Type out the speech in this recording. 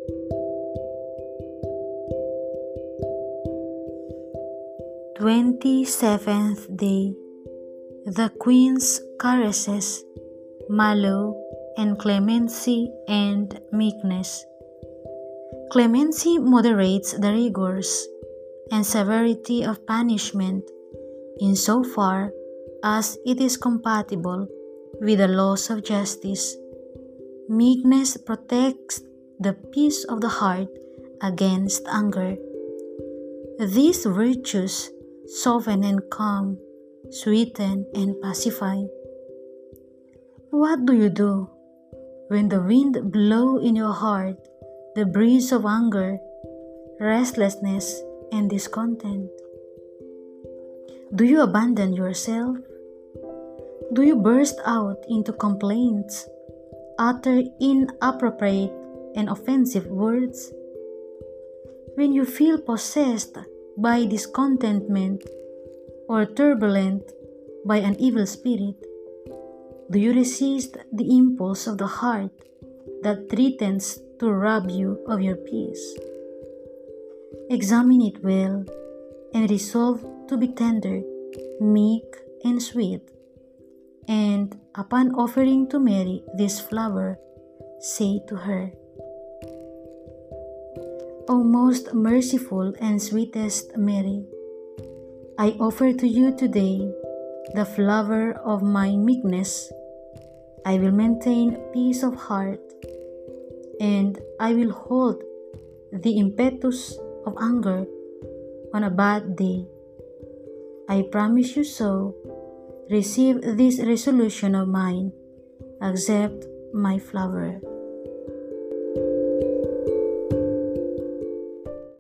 27th Day. The Queen's Caresses, Mallow, and Clemency and Meekness. Clemency moderates the rigors and severity of punishment insofar as it is compatible with the laws of justice. Meekness protects the peace of the heart against anger. These virtues soften and calm, sweeten and pacify. What do you do when the wind blows in your heart the breeze of anger, restlessness, and discontent? Do you abandon yourself? Do you burst out into complaints, utter inappropriate and offensive words? When you feel possessed by discontentment or turbulent by an evil spirit, do you resist the impulse of the heart that threatens to rob you of your peace? Examine it well and resolve to be tender, meek, and sweet. And upon offering to Mary this flower, say to her, O most merciful and sweetest Mary, I offer to you today the flower of my meekness. I will maintain peace of heart, and I will hold the impetus of anger on a bad day. I promise you so. Receive this resolution of mine. Accept my flower.